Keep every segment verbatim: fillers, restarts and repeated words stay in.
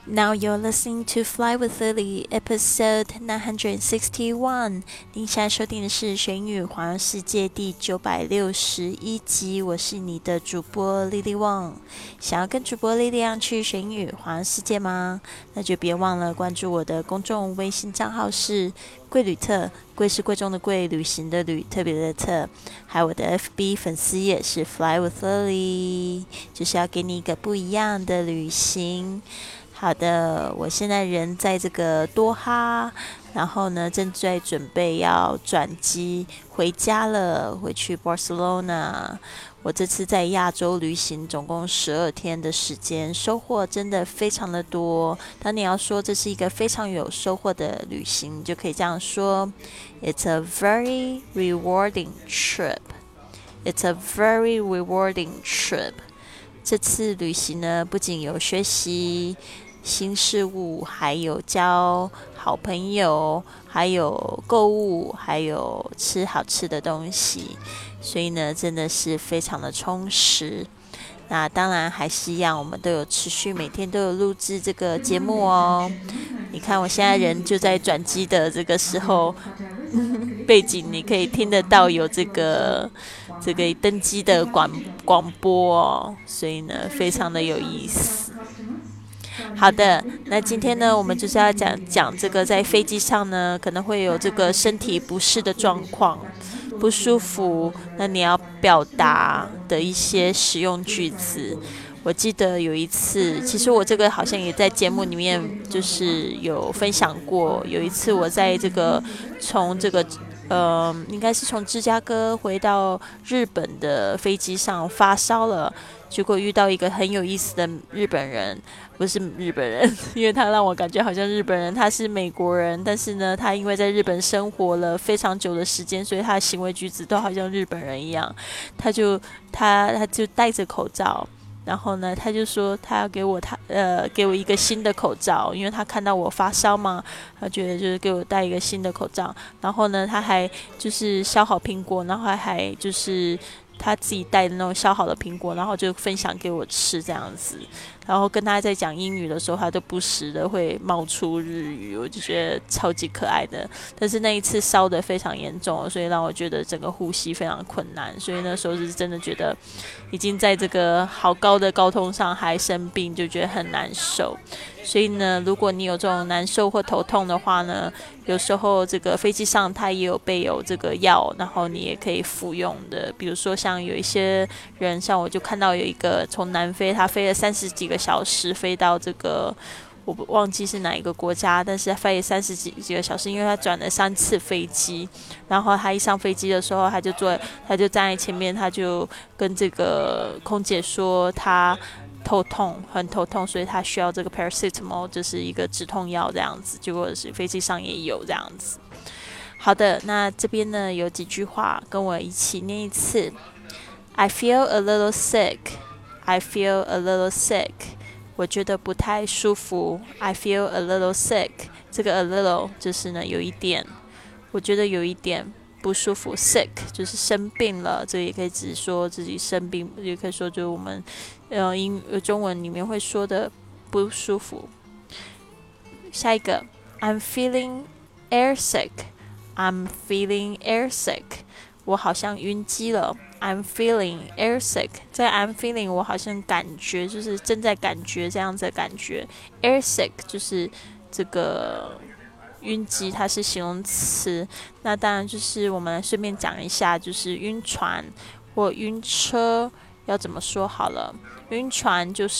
Now you're listening to Fly with Lily, episode nine hundred sixty-one. 您现在收听的是《学语环游世界》第九百六十一集。我是你的主播 Lily Wang。想要跟主播 Lily 一样去学语环游世界吗？那就别忘了关注我的公众微信账号是贵旅特，贵是贵重的贵，旅行的旅，特别的特。还有我的 F B 粉丝页是 Fly with Lily， 就是要给你一个不一样的旅行。好的，我现在人在这个多哈，然后呢，正在准备要转机回家了，回去 Barcelona。我这次在亚洲旅行，总共十二天的时间，收获真的非常的多。当你要说这是一个非常有收获的旅行，你就可以这样说 ：It's a very rewarding trip. It's a very rewarding trip. 这次旅行呢，不仅有学习新事物，还有交好朋友，还有购物，还有吃好吃的东西，所以呢，真的是非常的充实。那当然还是一样，我们都有持续每天都有录制这个节目哦。你看我现在人就在转机的这个时候，背景你可以听得到有这个这个登机的广广播哦，所以呢，非常的有意思。好的，那今天呢，我们就是要讲讲这个在飞机上呢，可能会有这个身体不适的状况，不舒服，那你要表达的一些实用句子。我记得有一次，其实我这个好像也在节目里面就是有分享过。有一次我在这个从这个呃，应该是从芝加哥回到日本的飞机上发烧了，结果遇到一个很有意思的日本人。不是日本人，因为他让我感觉好像日本人，他是美国人，但是呢，他因为在日本生活了非常久的时间，所以他的行为举止都好像日本人一样。他就他他就戴着口罩，然后呢，他就说他要给我他呃给我一个新的口罩，因为他看到我发烧嘛，他觉得就是给我戴一个新的口罩。然后呢，他还就是削好苹果，然后还还就是他自己带的那种削好的苹果，然后就分享给我吃这样子。然后跟他在讲英语的时候，他都不时的会冒出日语，我就觉得超级可爱的。但是那一次烧得非常严重，所以让我觉得整个呼吸非常困难，所以那时候是真的觉得已经在这个好高的高通上还生病，就觉得很难受。所以呢，如果你有这种难受或头痛的话呢，有时候这个飞机上它也有备有这个药，然后你也可以服用的。比如说像有一些人，像我就看到有一个从南非，他飞了三十几个小时飞到这个我忘记是哪一个国家，但是他飞了三十几几个小时，因为他转了三次飞机。然后他一上飞机的时候，他就坐，他就站在前面，他就跟这个空姐说他头痛，很头痛，所以他需要这个 paracetamol， 就是一个止痛药这样子。结果是飞机上也有这样子。好的，那这边呢有几句话，跟我一起念一次。I feel a little sick. I feel a little sick. 我觉得不太舒服。I feel a little sick. 这个 a little 就是呢有一点，我觉得有一点不舒服。Sick 就是生病了，这也可以只说自己生病，也可以说就是我们呃英中文里面会说的不舒服。下一个 I'm feeling airsick. I'm feeling airsick. 我好像晕机了。I'm feeling airsick. 在 I'm feeling 我好像感觉就是正在感觉这样子的感觉。Airsick 就是这个晕机，它是形容词。那当然就是我们顺便讲一下，就是晕船或晕车要怎么说好了。晕船就是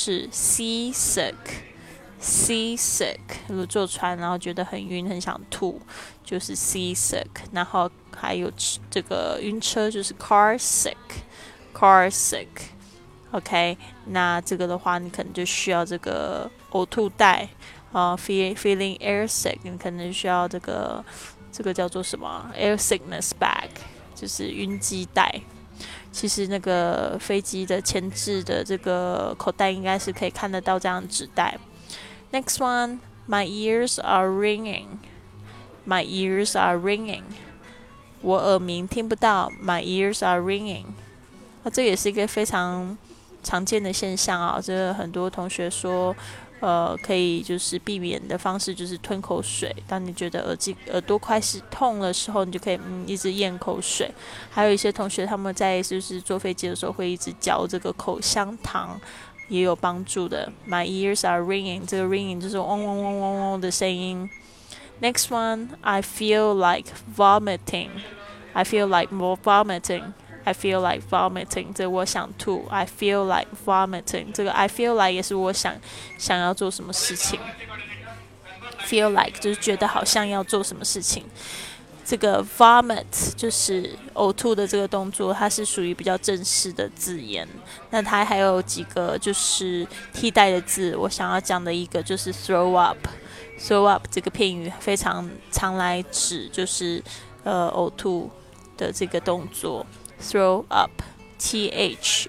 seasick。seasick 如果坐船然后觉得很晕很想吐，就是 seasick。然后还有这个晕车就是 car sick car sick OK， 那这个的话你可能就需要这个呕吐袋啊、uh, feeling air sick， 你可能需要这个这个叫做什么 air sickness bag， 就是晕机袋。其实那个飞机的前置的这个口袋应该是可以看得到这样的纸袋。Next one, my ears are ringing. My ears are ringing. 我耳鸣听不到 My ears are ringing。 那这也是一个非常常见的现象啊，这个很多同学说呃，可以就是避免的方式就是吞口水。当你觉得耳机耳朵开始痛的时候，你就可以嗯一直咽口水。还有一些同学他们在就是坐飞机的时候会一直嚼这个口香糖，也有帮助的。My ears are ringing， 这个 ringing 就是嗡嗡嗡嗡嗡的声音。Next one, I feel like vomiting. I feel like more vomiting.I feel like vomiting， 这我想吐。I feel like vomiting， 这个 I feel like 也是我想想要做什么事情。Feel like 就是觉得好像要做什么事情。这个 vomit 就是呕吐的这个动作，它是属于比较正式的字眼。那它还有几个就是替代的字，我想要讲的一个就是 throw up。throw up 这个片语非常常来指就是呃呕吐的这个动作。Throw up, T H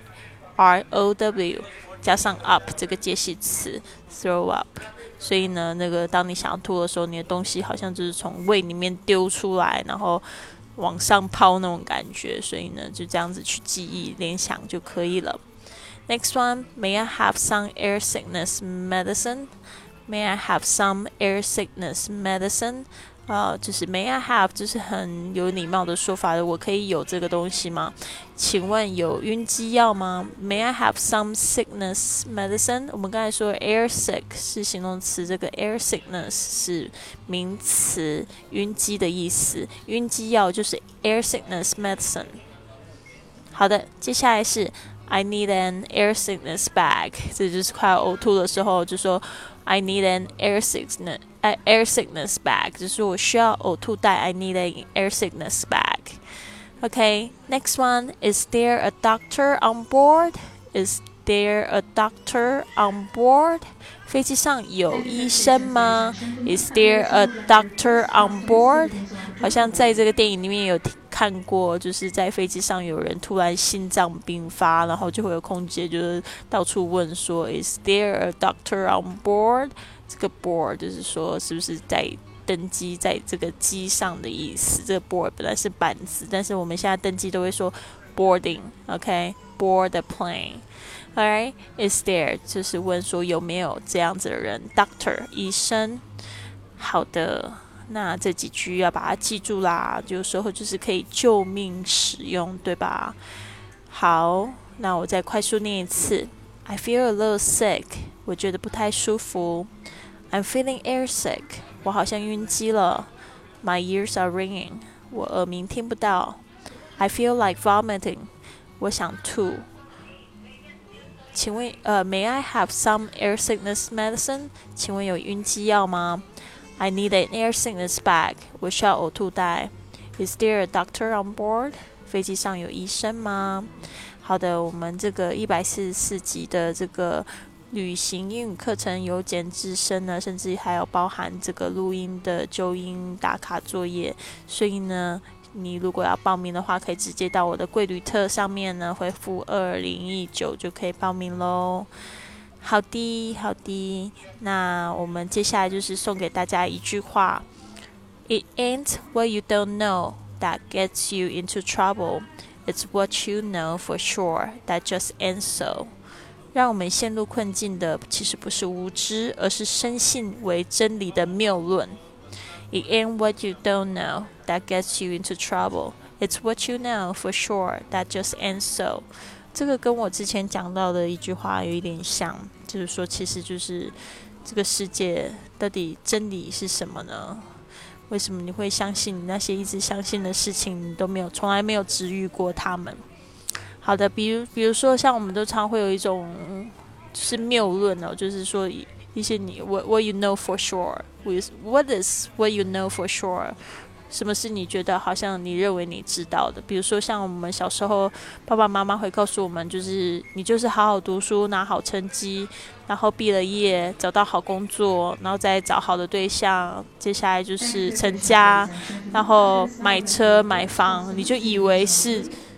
R O W 加上 up 这个介系词 throw up， 所以呢，那个当你想要吐的时候，你的东西好像就是从胃里面丢出来，然后往上抛那种感觉，所以呢，就这样子去记忆联想就可以了。Next one, may I have some air sickness medicine? May I have some air sickness medicine?呃，就是 May I have 就是很有礼貌的说法的，我可以有这个东西吗？请问有晕机药吗？ May I have some sickness medicine？ 我们刚才说 air sick 是形容词，这个 air sickness 是名词，晕机的意思。晕机药就是 air sickness medicine。好的，接下来是 I need an air sickness bag， 这就是快要呕吐的时候就说I need an air sickness air sickness bag， 就是我需要呕吐袋。I need an air sickness bag. Okay, next one. Is there a doctor on board? Is there a doctor on board? 飞机上有医生吗？ Is there a doctor on board? 好像在这个电影里面有看过，就是在飞机上有人突然心脏病发，然后就会有空姐就是到处问说 Is there a doctor on board? 这个 board 就是说是不是在登机在这个机上的意思。这个 board 本来是板子，但是我们现在登机都会说 boarding， OK， board the plane。Alright, is there 就是问说有没有这样子的人 ，doctor 医生。好的，那这几句要把它记住啦，有时候就是可以救命使用，对吧？好，那我再快速念一次。I feel a little sick， 我觉得不太舒服。I'm feeling airsick， 我好像晕机了。My ears are ringing， 我耳鸣听不到。I feel like vomiting， 我想吐。请问，呃 ，May I have some air sickness medicine？ 请问有晕机药吗？ I need an air sickness bag， 我需要呕吐袋。Is there a doctor on board？ 飞机上有医生吗？好的，我们这个一百四十四集的这个旅行英语课程由简至深呢，甚至还有包含这个录音的纠音打卡作业，所以呢，你如果要报名的话，可以直接到我的贵旅特上面呢回复二零一九就可以报名咯。好的，好的，那我们接下来就是送给大家一句话 ：It ain't what you don't know that gets you into trouble. It's what you know for sure that just ends so. 让我们陷入困境的其实不是无知，而是深信为真理的谬论。It ain't what you don't know that gets you into trouble. It's what you know for sure that just ends so. 这个跟我之前讲到的一句话有一点像，就是说，其实就是这个世界到底真理是什么呢？为什么你会相信你那些一直相信的事情，你都没有，从来没有治愈过他们？好的，比如比如说，像我们都常会有一种就是谬论哦，就是说一些你 what what you know for sure with what is what you know for sure。什么是你觉得好像你认为你知道的？比如说像我们小时候，爸爸妈妈会告诉我们，就是你就是好好读书，拿好成绩，然后毕了业，找到好工作，然后再找好的对象，接下来就是成家，然后买车买房，你就以为是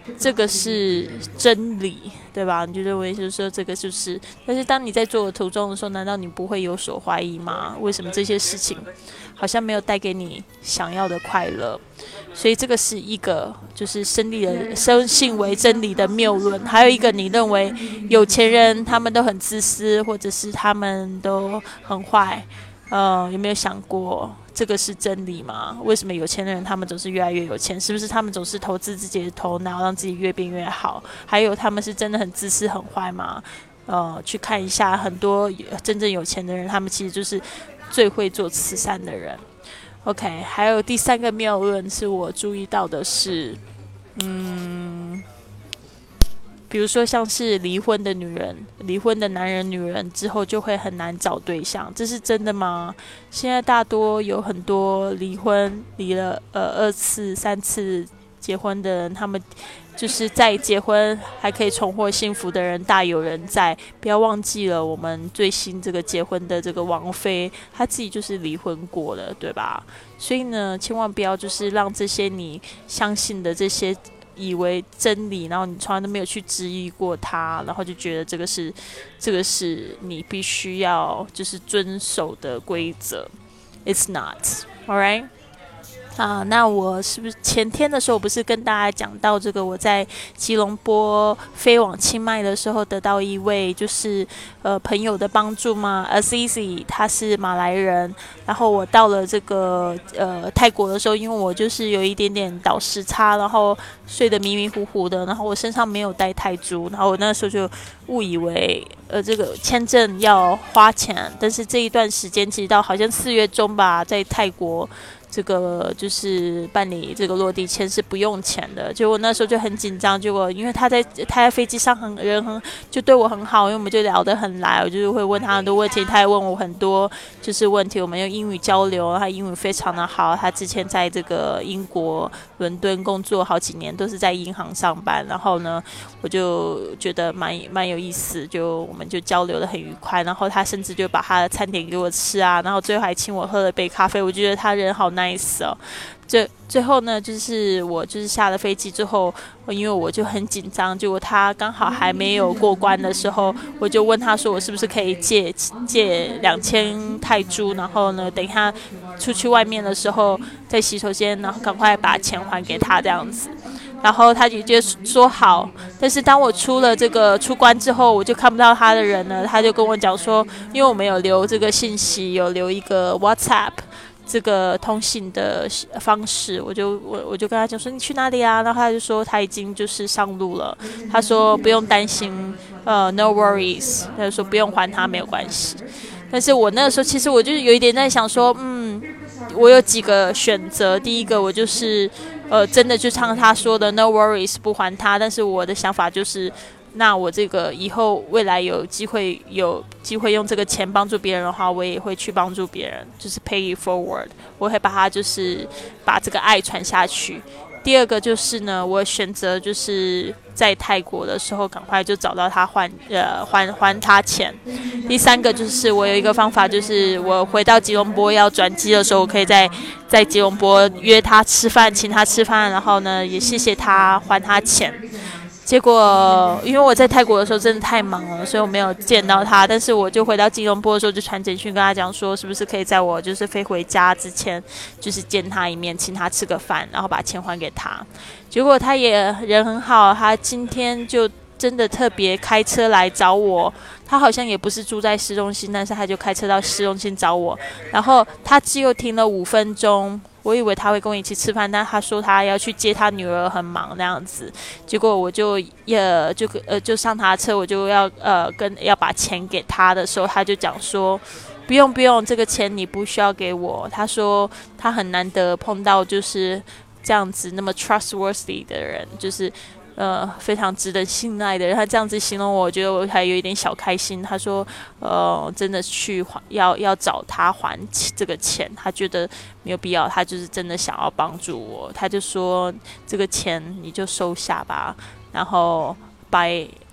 这个是真理，对吧？你就认为就是说这个就是，但是当你在做的途中的时候，难道你不会有所怀疑吗？为什么这些事情好像没有带给你想要的快乐？所以这个是一个就是生理的生性为真理的谬论。还有一个，你认为有钱人他们都很自私，或者是他们都很坏，呃，有没有想过这个是真理吗？为什么有钱人他们总是越来越有钱？是不是他们总是投资自己的头脑，让自己越变越好？还有他们是真的很自私很坏吗？呃，去看一下很多真正有钱的人，他们其实就是最会做慈善的人。OK， 还有第三个谬论是我注意到的是，嗯，比如说像是离婚的女人、离婚的男人、女人之后就会很难找对象，这是真的吗？现在大多有很多离婚离了呃二次、三次结婚的人，他们就是在结婚还可以重获幸福的人大有人在。不要忘记了，我们最新这个结婚的这个王妃，她自己就是离婚过了，对吧？所以呢，千万不要就是让这些你相信的这些以为真理，然后你从来都没有去质疑过它，然后就觉得这个是这个是你必须要就是遵守的规则。It's not, alright?啊，那我是不是前天的时候，我不是跟大家讲到这个？我在吉隆坡飞往清迈的时候，得到一位就是呃朋友的帮助嘛 ，Azizi， 他是马来人。然后我到了这个呃泰国的时候，因为我就是有一点点倒时差，然后睡得迷迷糊糊的，然后我身上没有带泰铢，然后我那时候就误以为呃这个签证要花钱，但是这一段时间其实到好像四月中吧，在泰国。这个就是办理这个落地签是不用钱的，结果那时候就很紧张。结果因为他在他在飞机上很人很就对我很好，因为我们就聊得很来，我就是会问他很多问题，他也问我很多就是问题，我们用英语交流，他英语非常的好。他之前在这个英国伦敦工作好几年，都是在银行上班。然后呢，我就觉得蛮蛮有意思，就我们就交流得很愉快。然后他甚至就把他的餐点给我吃啊，然后最后还请我喝了杯咖啡。我觉得他人好nice 哦。最最后呢，就是我就是下了飞机之后，因为我就很紧张，结果他刚好还没有过关的时候，我就问他说我是不是可以借借两千泰铢，然后呢，等他出去外面的时候，在洗手间，然后赶快把钱还给他这样子。然后他就就说好，但是当我出了这个出关之后，我就看不到他的人了。他就跟我讲说，因为我们有留这个信息，有留一个 WhatsApp。这个通信的方式，我就我我就跟他讲说你去哪里啊？然后他就说他已经就是上路了。他说不用担心，呃 ，no worries。他就说不用还他没有关系。但是我那个时候其实我就有一点在想说，嗯，我有几个选择。第一个我就是呃真的就像他说的 no worries 不还他，但是我的想法就是。那我这个以后未来有机会有机会用这个钱帮助别人的话，我也会去帮助别人，就是 pay it forward， 我会把它就是把这个爱传下去。第二个就是呢，我选择就是在泰国的时候赶快就找到他还呃还还他钱。第三个就是我有一个方法，就是我回到吉隆坡要转机的时候，我可以在在吉隆坡约他吃饭，请他吃饭，然后呢也谢谢他还他钱。结果因为我在泰国的时候真的太忙了，所以我没有见到他。但是我就回到吉隆坡的时候，就传简讯跟他讲说，是不是可以在我就是飞回家之前，就是见他一面，请他吃个饭，然后把钱还给他。结果他也人很好，他今天就真的特别开车来找我。他好像也不是住在市中心，但是他就开车到市中心找我。然后他只有停了五分钟。我以为他会跟我一起吃饭，但他说他要去接他女儿，很忙那样子。结果我就也就呃就上他车，我就要呃跟要把钱给他的时候，他就讲说不用不用，这个钱你不需要给我。他说他很难得碰到就是这样子那么 trustworthy 的人，就是呃非常值得信赖的人。他这样子形容我，我觉得我还有一点小开心。他说呃真的去还要要找他还这个钱，他觉得没有必要，他就是真的想要帮助我。他就说这个钱你就收下吧，然后 by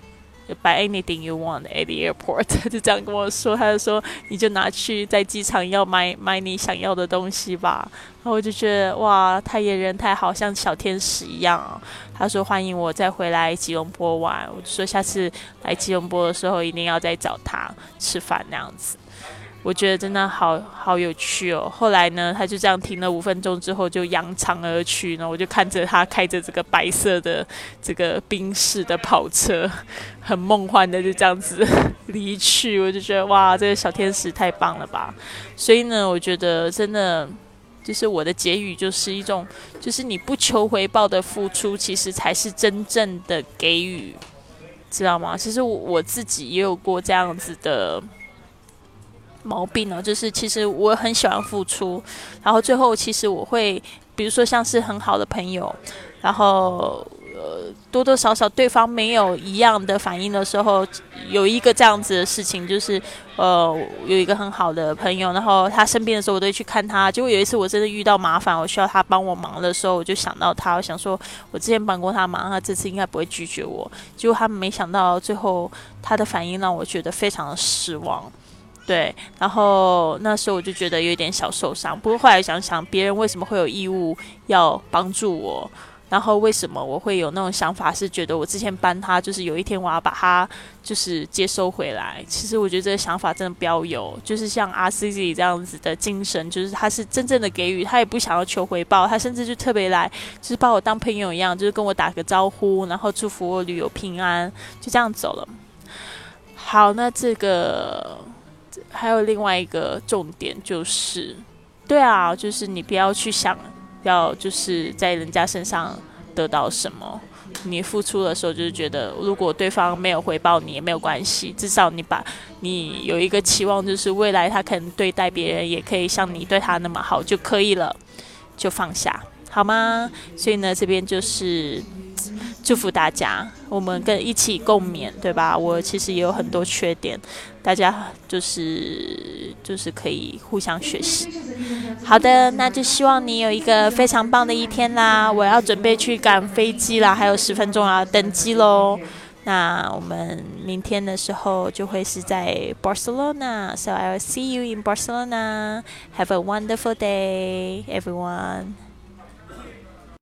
buy anything you want at the airport 他就这样跟我说，他就说你就拿去在机场要买买你想要的东西吧。然后我就觉得哇，他也人太好，像小天使一样、哦、他说欢迎我再回来吉隆坡玩，我就说下次来吉隆坡的时候一定要再找他吃饭那样子。我觉得真的好好有趣哦。后来呢，他就这样停了五分钟之后就扬长而去，然后我就看着他开着这个白色的这个宾士的跑车，很梦幻的就这样子离去。我就觉得哇，这个小天使太棒了吧。所以呢，我觉得真的就是我的结语就是一种，就是你不求回报的付出，其实才是真正的给予，知道吗？其实我我自己也有过这样子的毛病呢，就是其实我很喜欢付出，然后最后其实我会，比如说像是很好的朋友，然后呃多多少少对方没有一样的反应的时候，有一个这样子的事情，就是呃有一个很好的朋友，然后他生病的时候我都会去看他，结果有一次我真的遇到麻烦，我需要他帮我忙的时候，我就想到他，我想说我之前帮过他忙，他这次应该不会拒绝我，结果他没想到最后他的反应让我觉得非常的失望。对，然后那时候我就觉得有点小受伤，不过后来想想，别人为什么会有义务要帮助我？然后为什么我会有那种想法，是觉得我之前帮他，就是有一天我要把他就是接收回来。其实我觉得这个想法真的不要有，就是像 R C Z 这样子的精神，就是他是真正的给予，他也不想要求回报，他甚至就特别来，就是把我当朋友一样，就是跟我打个招呼，然后祝福我旅游平安，就这样走了。好，那这个。还有另外一个重点就是，对啊，就是你不要去想要就是在人家身上得到什么，你付出的时候就是觉得，如果对方没有回报你也没有关系，至少你把你有一个期望，就是未来他可能对待别人也可以像你对他那么好就可以了，就放下好吗？所以呢，这边就是祝福大家，我们跟一起共勉，对吧？我其实也有很多缺点，大家就是就是可以互相学习。好的，那就希望你有一个非常棒的一天啦！我要准备去赶飞机啦，还有十分钟要登机咯。那我们明天的时候就会是在 Barcelona, so I will see you in Barcelona. Have a wonderful day, everyone.